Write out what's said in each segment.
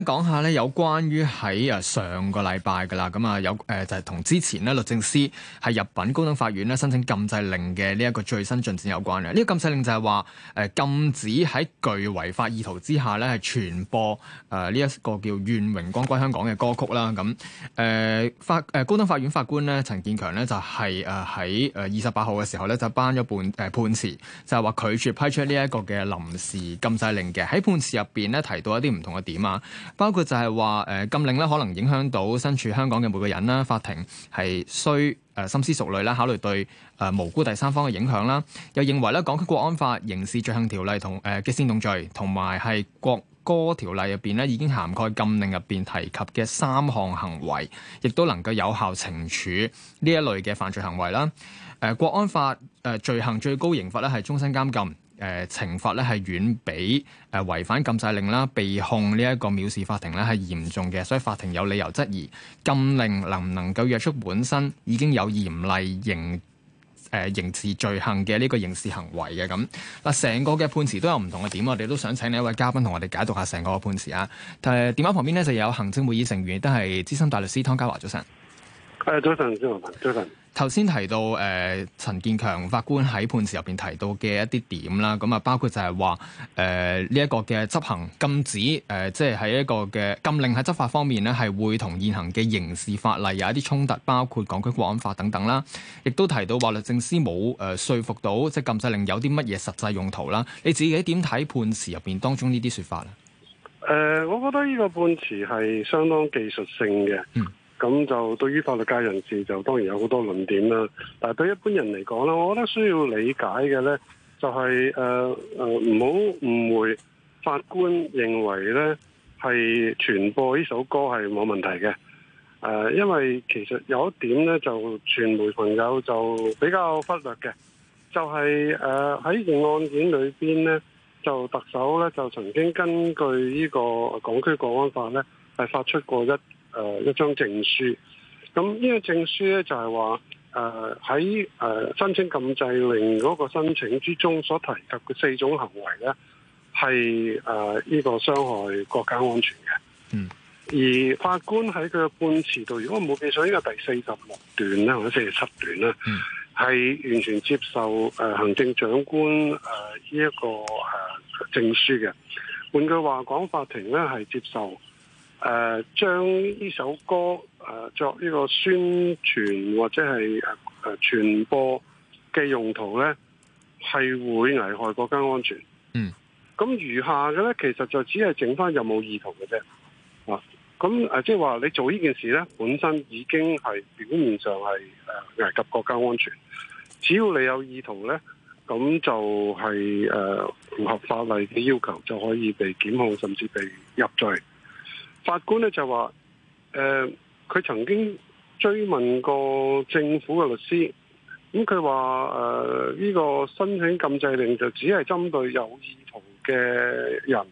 講下咧，有關於喺上個禮拜噶啦，咁啊有就係同之前咧律政司係入稟高等法院咧申請禁制令嘅呢一個最新進展有關嘅。呢個禁制令就係話禁止喺具違法意圖之下咧係傳播呢一個叫《願榮光歸香港》嘅歌曲啦。咁高等法院法官咧陳建強咧就係喺28號嘅時候咧就頒咗判詞，就係話拒絕批出呢一個嘅臨時禁制令嘅。喺判詞入邊咧提到一啲唔同嘅點啊。包括就係話禁令咧可能影響到身處香港嘅每個人啦，法庭係需深思熟慮啦，考慮對無辜第三方嘅影響啦。又認為咧《港區國安法》刑事罪行條例同嘅煽動罪同埋係國歌條例入邊咧已經涵蓋禁令入邊提及嘅3項行為，亦都能夠有效懲處呢一類嘅犯罪行為啦。國安法罪行最高刑罰咧係終身監禁。懲罰咧係遠比違反禁制令啦、被控呢一個藐視法庭咧係嚴重嘅，所以法庭有理由質疑禁令能唔能夠約束本身已經有嚴厲刑事罪行嘅呢個刑事行為嘅咁。嗱，成個嘅判詞都有唔同嘅點，我哋都想請你一位嘉賓同我哋解讀下成個判詞啊。電話旁邊呢就有行政會議成員，亦都係資深大律師湯家驊，早晨。 早晨，早晨。 頭先提到陳建強法官喺判詞入邊提到嘅一啲點啦，咁啊包括就係話呢一個嘅執行禁止即係喺一個嘅禁令喺執法方面呢係會同現行嘅刑事法例有一啲衝突，包括港區國安法等等啦。亦都提到話律政司冇說服到即係禁制令有啲乜嘢實際用途啦。你自己點睇判詞入邊當中呢啲說法咧？ 我覺得呢個判詞係相當技術性嘅。咁就對於法律界人士就當然有好多論點啦，但係對一般人嚟講咧，我覺得需要理解嘅咧就係唔好誤會法官認為咧係傳播呢首歌係冇問題嘅。因為其實有一點咧就傳媒朋友就比較忽略嘅，就係喺件案件裏邊咧，就特首咧就曾經根據呢個港區國安法咧係發出過一張證書，咁呢個證書咧就係話喺申請禁制令嗰個申請之中所提及嘅4種行為咧係呢個傷害國家安全嘅。而法官喺佢嘅判詞度，如果我冇記錯，應該第46段啦，或者47段啦，係完全接受行政長官呢一個證書嘅。換句話講，法庭咧係接受將呢首歌作呢個宣傳或者係傳播嘅用途咧，係會危害國家安全。咁餘下嘅咧，其實就只係剩翻有冇意圖嘅啫。咁即係話你做呢件事咧，本身已經係表面上係危及國家安全。只要你有意圖咧，咁就係符合法例嘅要求，就可以被檢控，甚至被入罪。法官咧就話，佢曾經追問過政府嘅律師，咁佢話呢個申請禁制令就只係針對有意圖嘅人。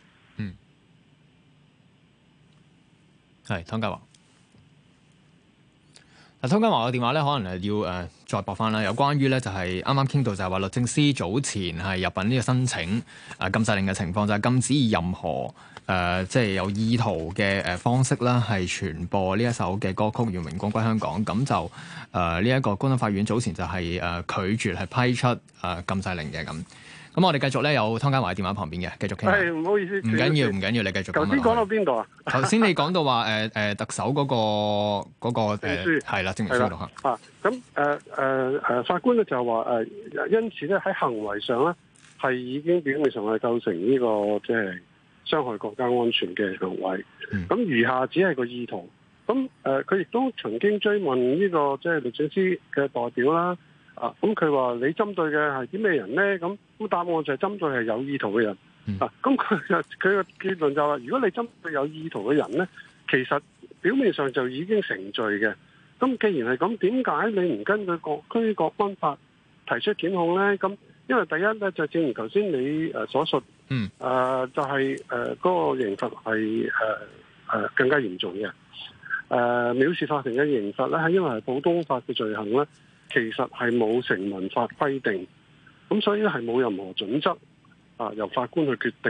係湯家驊。湯家驊嘅電話咧，可能要再駁翻啦。有關於咧就係啱啱傾到就係話律政司早前係入稟呢個申請禁制令嘅情況，就係禁止以任何即係有意圖嘅方式啦，係傳播呢一首嘅歌曲《願榮光歸香港》。咁就呢一個高等法院早前就係拒絕係批出禁制令嘅咁。咁我哋繼續咧，有湯家驊喺電話旁邊嘅，繼續傾。 係，唔好意思， 唔緊要，你繼續。 頭先講到邊度啊？ 頭先你講到話特首嗰個證書係啦，證明書度嚇。 咁法官咧就話因此咧喺行為上咧係已經表面上係構成呢個即係傷害國家安全嘅行為。咁餘下只係個意圖。咁佢亦都曾經追問呢個即係律政司嘅代表啦。咁佢話你針對嘅係啲咩人咧？咁答案就係針對係有意圖嘅人。咁佢嘅結論就話，如果你針對有意圖嘅人咧，其實表面上就已經成罪嘅。咁既然係咁，點解你唔根據港區國安法提出檢控咧？咁因為第一咧就正如頭先你所述，就係嗰個刑罰係更加嚴重嘅。藐視法庭嘅刑罰咧，係因為係普通法嘅罪行咧。其實係冇成文法規定，咁所以咧係冇任何準則由法官去決定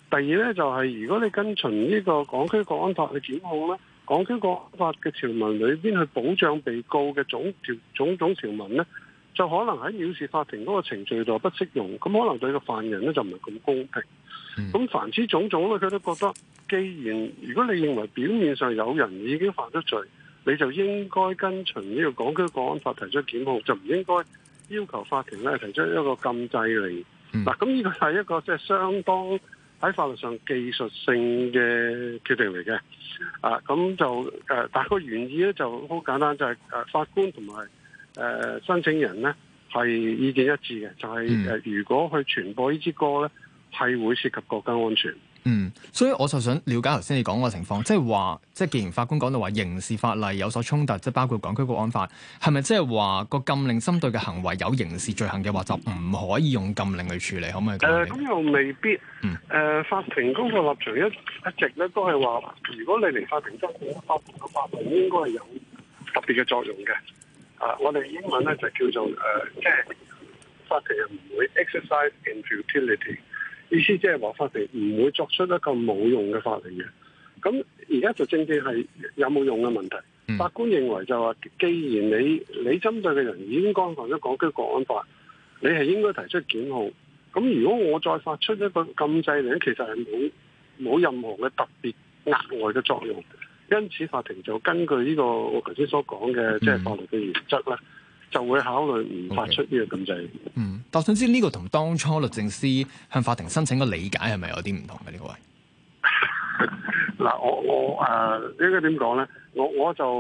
第二咧就係如果你跟循呢個港區國安法去檢控咧，港區國安法嘅條文裏邊去保障被告嘅種種條文咧，就可能喺藐視法庭嗰個程序度不適用，咁可能對個犯人咧就唔係咁公平。咁凡此種種咧，佢都覺得，既然如果你認為表面上有人已經犯咗罪，你就應該跟循呢個港區國安法提出檢控，就唔應該要求法庭咧提出一個禁制令。嗱，咁呢個係一個即係相當喺法律上技術性嘅決定嚟嘅。咁就但係個原意咧就好簡單，就係法官同埋申請人咧係意見一致嘅，就係如果去傳播呢支歌咧，係會涉及國家安全。 所以我就想了解頭先你講個情況，即係話，即係既然法官講到話刑事法例有所衝突，即係包括港區國安法，係咪即係話個禁令針對嘅行為有刑事罪行嘅話，就唔可以用禁令去處理？可唔可以講？ 咁又未必。法庭嗰個立場一直咧都係話，如果你嚟法庭爭辯，法庭嘅法律應該係有特別嘅作用嘅。我哋英文咧就叫做即係法庭係唔會 exercise in futility。意思即係話法庭唔會作出一個冇用嘅法令嘅，咁而家就正正係有冇用嘅問題。法官認為就話，既然你針對嘅人已經干犯咗港區國安法，你係應該提出檢控。咁如果我再發出一個禁制令，其實係冇任何嘅特別額外嘅作用。因此法庭就根據呢個我頭先所講嘅即係法律嘅原則咧，就會考慮唔發出呢個禁制。 但我想知呢個同當初律政司向法庭申請嘅理解係咪有啲唔同嘅呢個位？ 嗱，我應該點講咧？我就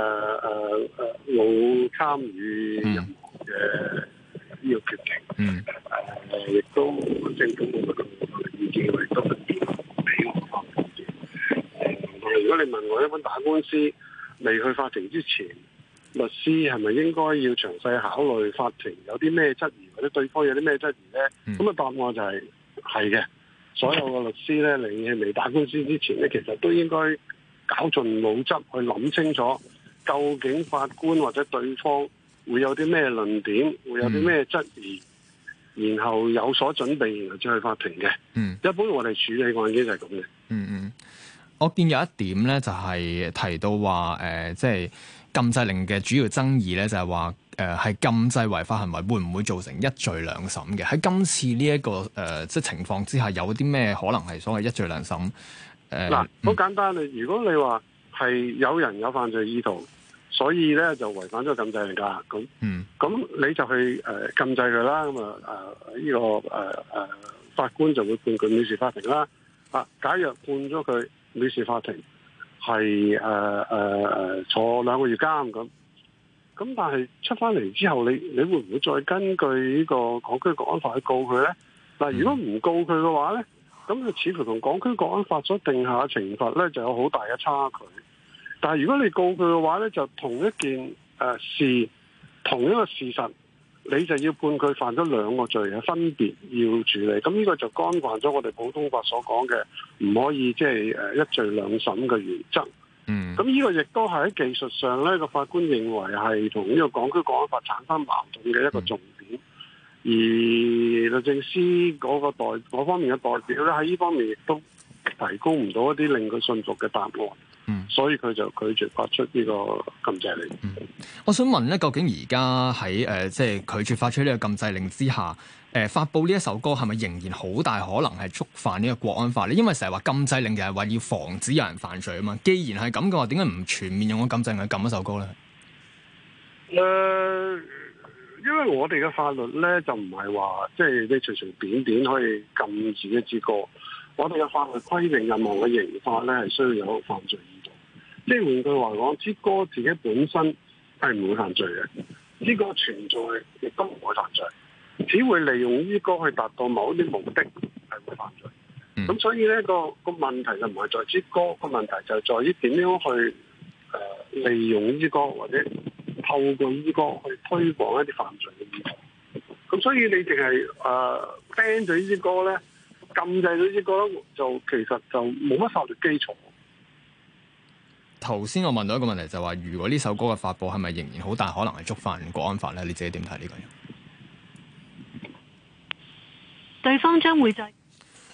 冇參與任何嘅呢個決定。亦都政府冇乜咁意見，亦都唔俾我法庭嘅。如果你問我，一般打官司未去法庭之前，律師係咪應該要詳細考慮法庭有啲咩質疑，或者對方有啲咩質疑咧？咁答案就係嘅。所有嘅律師咧，你係未打官司之前咧，其實都應該絞盡腦汁去諗清楚，究竟法官或者對方會有啲咩論點，會有啲咩質疑，然後有所準備，然後再去法庭嘅。一般我哋處理案件就係咁嘅。 我見有一點咧，就係提到話即係禁制令嘅主要爭議咧，就係話係禁制違法行為會唔會造成一罪兩審嘅？喺今次呢一個即係情況之下，有啲咩可能係所謂一罪兩審？ 好簡單啊！如果你話係有人有犯罪意圖，所以咧就違反咗禁制令㗎，咁你就去禁制佢啦。咁呢個法官就會判佢藐視法庭啦。假若判咗佢藐視法庭，係坐2個月監咁，但係出翻嚟之後，你會唔會再根據呢個港區國安法去告佢咧？嗱，如果唔告佢嘅話咧，咁佢似乎同港區國安法所定下嘅懲罰咧就有好大嘅差距。但係如果你告佢嘅話咧，就同一件事，同一個事實，你就要判佢犯咗2個罪，係分別要處理。咁呢個就干犯咗我哋普通法所講嘅唔可以即係一罪兩審嘅原則。咁呢個亦都係喺技術上咧，個法官認為係同呢個港區國安法產生矛盾嘅一個重點。而律政司嗰方面嘅代表咧，喺呢方面亦都提供唔到一啲令佢信服嘅答案。所以佢就拒絕發出呢個禁制令。 我想問咧，究竟而家喺即係拒絕發出呢個禁制令之下，發布呢一首歌係咪仍然好大可能係觸犯呢個國安法咧？因為成日話禁制令就係話要防止有人犯罪啊嘛。既然係咁嘅話，點解唔全面用個禁制令去禁一首歌咧？ 因為我哋嘅法律咧就唔係話即係你隨隨便便可以禁止一支歌。我哋嘅法律規定任何嘅刑法咧係需要有犯罪意圖。即係換句話講，支歌自己本身係唔會犯罪嘅，支歌存在亦都唔會犯罪，只會利用呢歌去達到某一啲目的係會犯罪。咁所以咧個問題就唔係在支歌，個問題就係在於點樣去利用呢支歌，或者透過呢支歌去推廣一啲犯罪嘅意圖。咁所以你淨係ban 咗呢支歌咧，禁制咗呢支歌咧，就其實就冇乜法律基礎。 頭先我問到一個問題就係話，如果呢首歌嘅發佈係咪仍然好大可能係觸犯國安法咧？你自己點睇呢個？ 對方將會在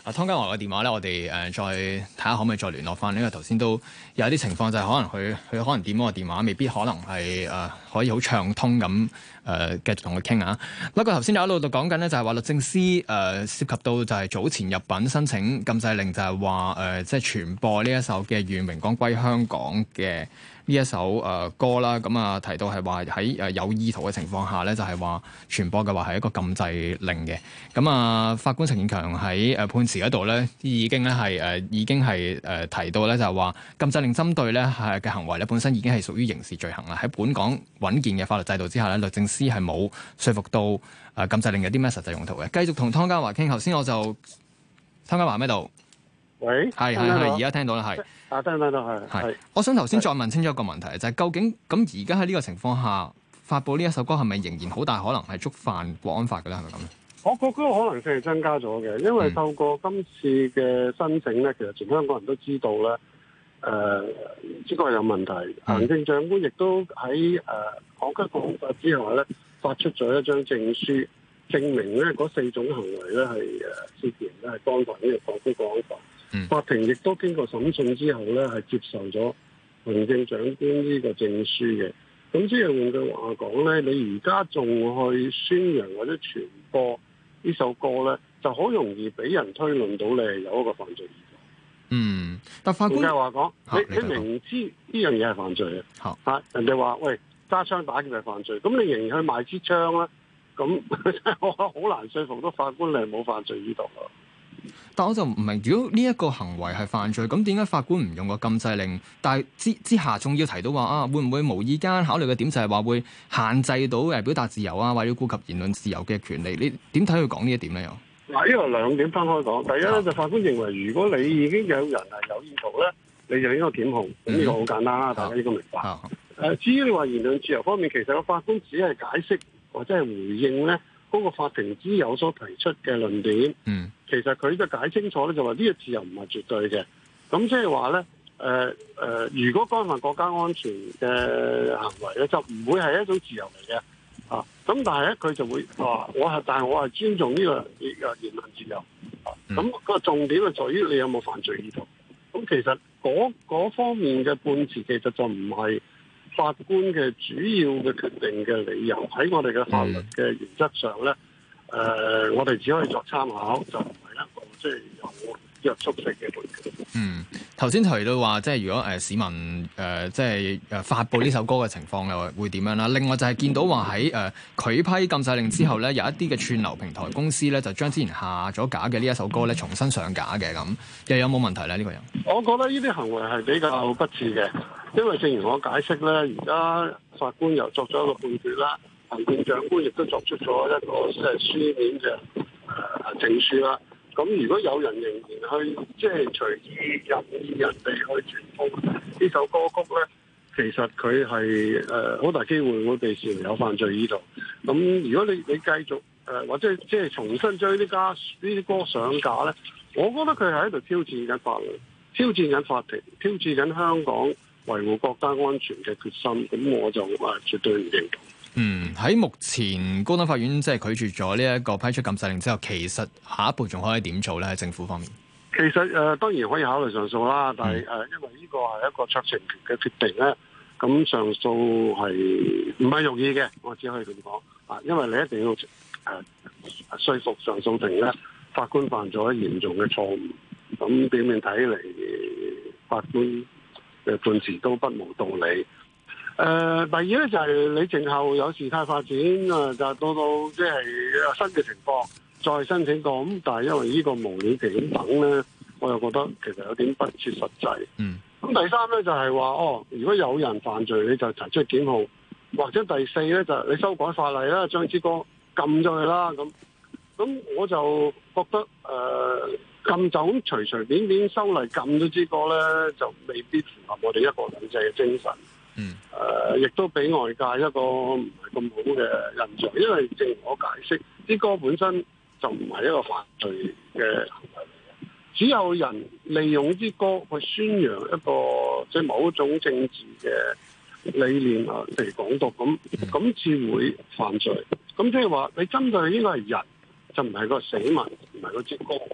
湯家驊嘅電話咧，我哋再睇下可唔可以再聯絡翻，因為頭先都有啲情況就係可能佢可能點嗰個電話，未必可能係可以好暢通咁繼續同佢傾啊。不過頭先有一路度講緊咧，就係話律政司涉及到就係早前入稟申請禁制令，就係話即係傳播呢一首嘅《願榮光歸香港》嘅呢一首歌啦。咁啊提到係話喺有意圖嘅情況下咧，就係話傳播嘅話係一個禁制令嘅。咁啊法官陳建強喺判詞嗰度咧已經係提到咧，就係話禁制令針對咧係嘅行為咧本身已經係屬於刑事罪行啦。喺本港穩健嘅法律制度之下咧，律政司係冇說服到禁制令有啲咩實際用途嘅。繼續同湯家驊傾，頭先我就湯家驊喺度， 喂， 係，而家聽到啦，係聽到係。 我想頭先再問清楚一個問題，就係究竟咁而家喺呢個情況下發布呢一首歌係咪仍然好大可能係觸犯國安法嘅咧？係咪咁咧？ 我覺得可能性係增加咗嘅，因為透過今次嘅申請咧，其實全香港人都知道咧，呢個係有問題。行政長官亦都喺港區國安法之下咧，發出咗一張證書，證明咧嗰4種行為咧係涉嫌咧係干犯呢個港區國安法。法庭亦都經過審訊之後咧，係接受咗行政長官呢個證書嘅。咁即係換句話講咧，你而家仲去宣揚或者傳播呢首歌咧，就好容易俾人推論到你係有一個犯罪意圖。 但法官話講，你明知呢樣嘢係犯罪嘅，人哋話喂揸槍打劫係犯罪，咁你仍然去賣支槍咧，咁我好難說服到法官你係冇犯罪意圖咯。 但我就唔明，如果呢一個行為係犯罪，咁點解法官唔用個禁制令？但係之下仲要提到話會唔會無意間考慮嘅點就係話會限制到表達自由啊，或者顧及言論自由嘅權利？你點睇佢講呢一點咧？又嗱，呢個兩點分開講。第一咧，就法官認為，如果你已經有人係有意圖咧，你就應該檢控。咁呢個好簡單啦，大家應該明白。至於你話言論自由方面，其實個法官只係解釋或者係回應咧嗰個法庭之友所提出嘅論點。其實佢就解清楚咧，就話呢個自由唔係絕對嘅。咁即係話咧，如果干犯國家安全嘅行為咧，就唔會係一種自由嚟嘅。咁但係咧，佢就會話但係我係尊重呢個言論自由。咁個重點係在於你有冇犯罪意圖。咁其實嗰方面嘅判詞其實就唔係法官嘅主要嘅決定嘅理由。喺我哋嘅法律嘅原則上咧，我哋只可以作參考，就唔係一個即係有約束性嘅判決。 頭先提到話，即係如果市民即係發布呢首歌嘅情況又會點樣啦？另外就係見到話喺拒批禁制令之後咧，有一啲嘅串流平台公司咧就將之前下咗架嘅呢一首歌咧重新上架嘅，咁又有冇問題咧？呢個人我覺得呢啲行為係比較不智嘅，因為正如我解釋咧，而家法官又作咗一個判決啦，行政長官亦都作出咗一個即係書面嘅證書啦。咁如果有人仍然去即係隨意任意人哋去傳播呢首歌曲咧，其實佢係好大機會會被視為有犯罪意圖。咁如果你繼續或者即係重新將呢啲歌上架咧，我覺得佢係喺度挑戰緊法律、挑戰緊法庭、挑戰緊香港維護國家安全嘅決心。咁我就絕對唔認同。 喺目前高等法院即係拒絕咗呢一個批出禁制令之後，其實下一步仲可以點做咧？喺政府方面， 其實當然可以考慮上訴啦，但係因為呢個係一個酌情權嘅決定咧，咁上訴係唔係容易嘅，我只可以咁講因為你一定要說服上訴庭咧，法官犯咗嚴重嘅錯誤，咁表面睇嚟法官嘅判詞都不無道理。第二咧就係你靜候有事態發展就到即係新嘅情況再申請過，咁但係因為呢個無了期咁等咧，我又覺得其實有點不切實際。咁第三咧就係話如果有人犯罪你就提出檢控，或者第四咧就係你修改法例啦，將支歌禁咗佢啦。咁我就覺得禁就咁隨隨便便修例禁咗支歌咧，就未必符合我哋一國兩制嘅精神。亦都俾外界一個唔係咁好嘅印象，因為正如我解釋，啲歌本身就唔係一個犯罪嘅行為嚟嘅，只有人利用啲歌去宣揚一個即係某一種政治嘅理念譬如港獨咁至會犯罪。咁即係話你針對應該係人，就唔係個死民，唔係嗰支歌。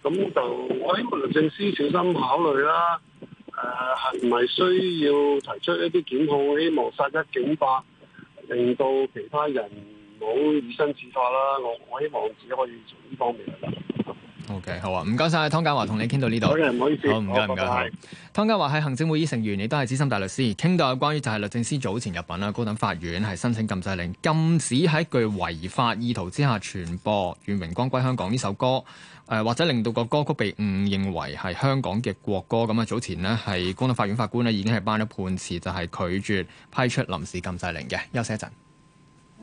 咁就我希望律政司小心考慮啦。係唔係需要提出一啲檢控，希望殺一儆百，令到其他人唔好以身試法啦。我希望自己可以從呢方面嚟啦。 OK， 好啊，唔該晒，湯家驊同你傾到呢度。 好嘅，唔好意思。 好，唔該，唔該。湯家驊係行政會議成員，亦都係資深大律師。傾到有關於就係律政司早前入禀啦，高等法院係申請禁制令，禁止喺具違法意圖之下傳播《願榮光歸香港》呢首歌，或者令到個歌曲被誤認為係香港嘅國歌。咁啊，早前呢係高等法院法官呢已經係頒咗判詞，就係拒絕批出臨時禁制令嘅。休息一陣。